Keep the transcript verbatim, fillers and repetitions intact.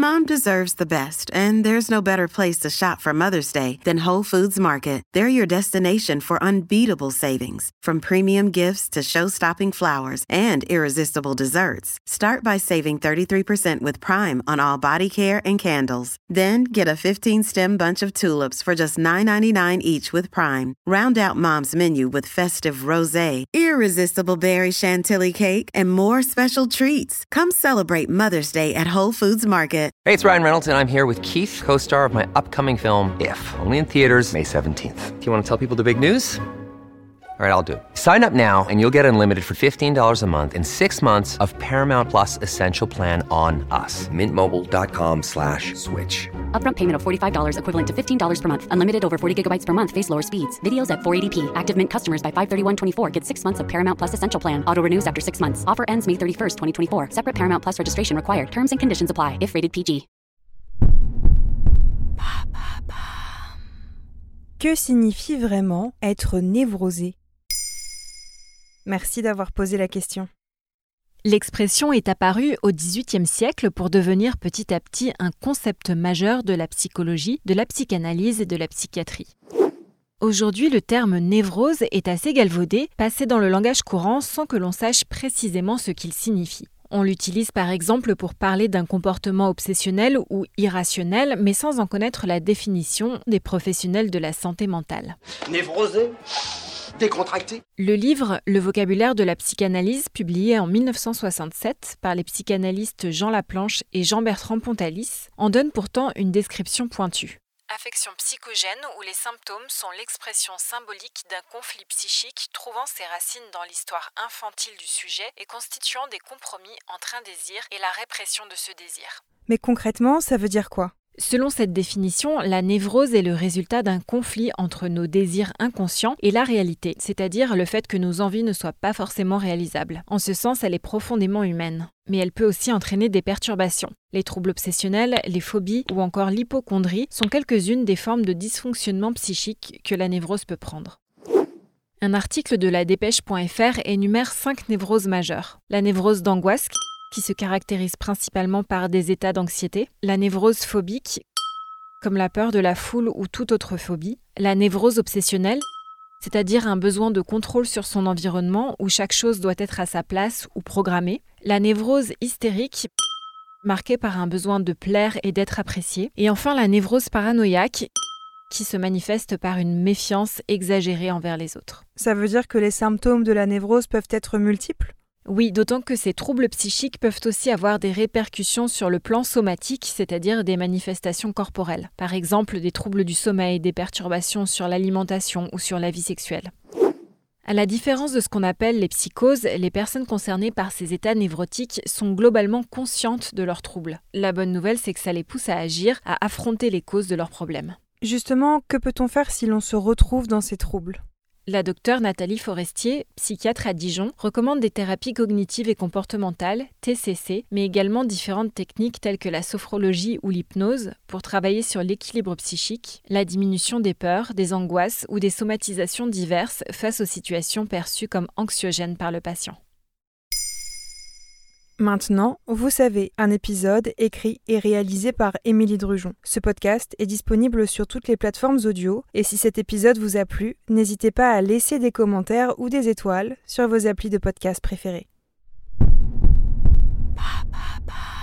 Mom deserves the best, and there's no better place to shop for Mother's Day than Whole Foods Market. They're your destination for unbeatable savings, from premium gifts to show-stopping flowers and irresistible desserts. Start by saving thirty-three percent with Prime on all body care and candles. Then get a fifteen-stem bunch of tulips for just nine ninety-nine each with Prime. Round out Mom's menu with festive rosé, irresistible berry chantilly cake, and more special treats. Come celebrate Mother's Day at Whole Foods Market. Hey, it's Ryan Reynolds, and I'm here with Keith, co-star of my upcoming film, If, only in theaters May seventeenth. Do you want to tell people the big news? All right, I'll do it. Sign up now and you'll get unlimited for fifteen dollars a month and six months of Paramount Plus Essential Plan on us. Mint Mobile dot com slash switch. Upfront payment of forty-five dollars equivalent to fifteen dollars per month. Unlimited over forty gigabytes per month. Face lower speeds. Videos at four eighty p. Active Mint customers by five thirty-one twenty-four get six months of Paramount Plus Essential Plan. Auto renews after six months. Offer ends May thirty-first, twenty twenty-four. Separate Paramount Plus registration required. Terms and conditions apply if rated P G. Que signifie vraiment être névrosé ? Merci d'avoir posé la question. L'expression est apparue au dix-huitième siècle pour devenir petit à petit un concept majeur de la psychologie, de la psychanalyse et de la psychiatrie. Aujourd'hui, le terme névrose est assez galvaudé, passé dans le langage courant sans que l'on sache précisément ce qu'il signifie. On l'utilise par exemple pour parler d'un comportement obsessionnel ou irrationnel, mais sans en connaître la définition des professionnels de la santé mentale. Névrosé ? Décontracté. Le livre « Le vocabulaire de la psychanalyse », publié en mille neuf cent soixante-sept par les psychanalystes Jean Laplanche et Jean-Bertrand Pontalis, en donne pourtant une description pointue. Affection psychogène où les symptômes sont l'expression symbolique d'un conflit psychique trouvant ses racines dans l'histoire infantile du sujet et constituant des compromis entre un désir et la répression de ce désir. Mais concrètement, ça veut dire quoi ? Selon cette définition, la névrose est le résultat d'un conflit entre nos désirs inconscients et la réalité, c'est-à-dire le fait que nos envies ne soient pas forcément réalisables. En ce sens, elle est profondément humaine. Mais elle peut aussi entraîner des perturbations. Les troubles obsessionnels, les phobies ou encore l'hypocondrie sont quelques-unes des formes de dysfonctionnement psychique que la névrose peut prendre. Un article de la dépêche point f r énumère cinq névroses majeures. La névrose d'angoisse, qui se caractérise principalement par des états d'anxiété, la névrose phobique, comme la peur de la foule ou toute autre phobie, la névrose obsessionnelle, c'est-à-dire un besoin de contrôle sur son environnement où chaque chose doit être à sa place ou programmée, la névrose hystérique, marquée par un besoin de plaire et d'être apprécié, et enfin la névrose paranoïaque, qui se manifeste par une méfiance exagérée envers les autres. Ça veut dire que les symptômes de la névrose peuvent être multiples ? Oui, d'autant que ces troubles psychiques peuvent aussi avoir des répercussions sur le plan somatique, c'est-à-dire des manifestations corporelles. Par exemple, des troubles du sommeil, des perturbations sur l'alimentation ou sur la vie sexuelle. À la différence de ce qu'on appelle les psychoses, les personnes concernées par ces états névrotiques sont globalement conscientes de leurs troubles. La bonne nouvelle, c'est que ça les pousse à agir, à affronter les causes de leurs problèmes. Justement, que peut-on faire si l'on se retrouve dans ces troubles ? La docteure Nathalie Forestier, psychiatre à Dijon, recommande des thérapies cognitives et comportementales, T C C, mais également différentes techniques telles que la sophrologie ou l'hypnose pour travailler sur l'équilibre psychique, la diminution des peurs, des angoisses ou des somatisations diverses face aux situations perçues comme anxiogènes par le patient. Maintenant, vous savez, un épisode écrit et réalisé par Émilie Drujon. Ce podcast est disponible sur toutes les plateformes audio et si cet épisode vous a plu, n'hésitez pas à laisser des commentaires ou des étoiles sur vos applis de podcast préférés. Ba, ba, ba.